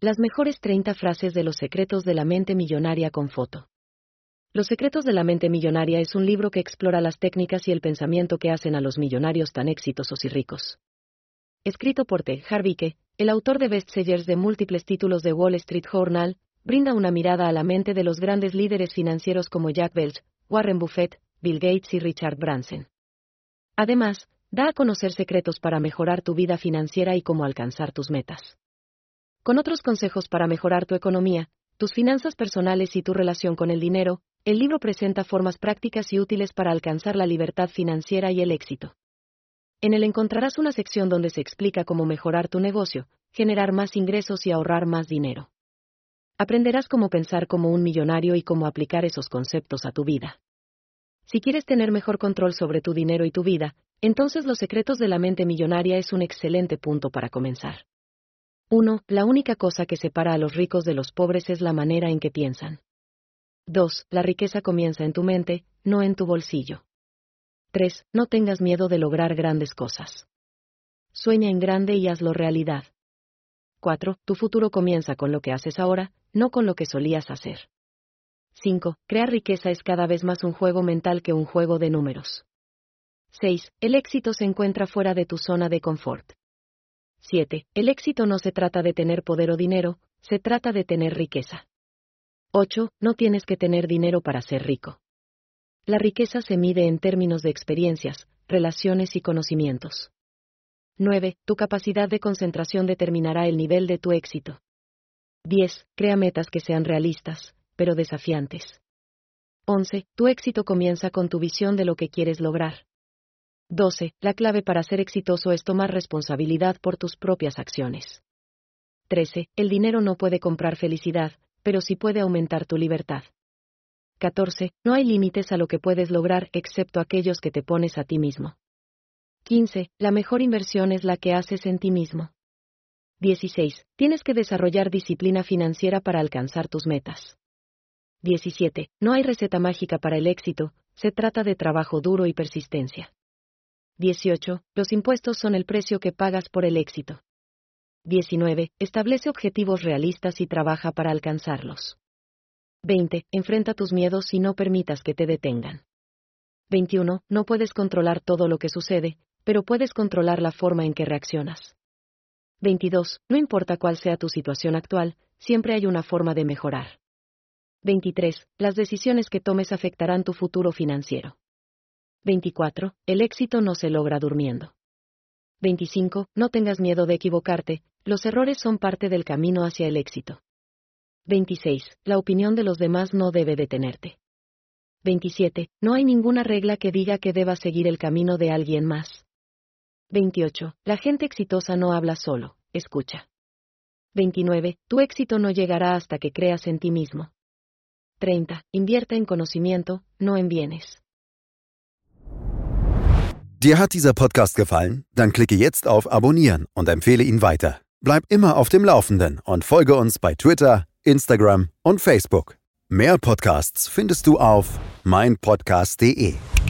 Las mejores 30 frases de Los secretos de la mente millonaria con foto. Los secretos de la mente millonaria es un libro que explora las técnicas y el pensamiento que hacen a los millonarios tan exitosos y ricos. Escrito por T. Harv Eker, el autor de bestsellers de múltiples títulos de Wall Street Journal, brinda una mirada a la mente de los grandes líderes financieros como Jack Welch, Warren Buffett, Bill Gates y Richard Branson. Además, da a conocer secretos para mejorar tu vida financiera y cómo alcanzar tus metas. Con otros consejos para mejorar tu economía, tus finanzas personales y tu relación con el dinero, el libro presenta formas prácticas y útiles para alcanzar la libertad financiera y el éxito. En él encontrarás una sección donde se explica cómo mejorar tu negocio, generar más ingresos y ahorrar más dinero. Aprenderás cómo pensar como un millonario y cómo aplicar esos conceptos a tu vida. Si quieres tener mejor control sobre tu dinero y tu vida, entonces Los secretos de la mente millonaria es un excelente punto para comenzar. 1. La única cosa que separa a los ricos de los pobres es la manera en que piensan. 2. La riqueza comienza en tu mente, no en tu bolsillo. 3. No tengas miedo de lograr grandes cosas. Sueña en grande y hazlo realidad. 4. Tu futuro comienza con lo que haces ahora, no con lo que solías hacer. 5. Crear riqueza es cada vez más un juego mental que un juego de números. 6. El éxito se encuentra fuera de tu zona de confort. 7. El éxito no se trata de tener poder o dinero, se trata de tener riqueza. 8. No tienes que tener dinero para ser rico. La riqueza se mide en términos de experiencias, relaciones y conocimientos. 9. Tu capacidad de concentración determinará el nivel de tu éxito. 10. Crea metas que sean realistas, pero desafiantes. 11. Tu éxito comienza con tu visión de lo que quieres lograr. 12. La clave para ser exitoso es tomar responsabilidad por tus propias acciones. 13. El dinero no puede comprar felicidad, pero sí puede aumentar tu libertad. 14. No hay límites a lo que puedes lograr excepto aquellos que te pones a ti mismo. 15. La mejor inversión es la que haces en ti mismo. 16. Tienes que desarrollar disciplina financiera para alcanzar tus metas. 17. No hay receta mágica para el éxito, se trata de trabajo duro y persistencia. 18. Los impuestos son el precio que pagas por el éxito. 19. Establece objetivos realistas y trabaja para alcanzarlos. 20. Enfrenta tus miedos y no permitas que te detengan. 21. No puedes controlar todo lo que sucede, pero puedes controlar la forma en que reaccionas. 22. No importa cuál sea tu situación actual, siempre hay una forma de mejorar. 23. Las decisiones que tomes afectarán tu futuro financiero. 24. El éxito no se logra durmiendo. 25. No tengas miedo de equivocarte, los errores son parte del camino hacia el éxito. 26. La opinión de los demás no debe detenerte. 27. No hay ninguna regla que diga que debas seguir el camino de alguien más. 28. La gente exitosa no habla solo, escucha. 29. Tu éxito no llegará hasta que creas en ti mismo. 30. Invierte en conocimiento, no en bienes. Dir hat dieser Podcast gefallen? Dann klicke jetzt auf Abonnieren und empfehle ihn weiter. Bleib immer auf dem Laufenden und folge uns bei Twitter, Instagram und Facebook. Mehr Podcasts findest du auf meinpodcast.de.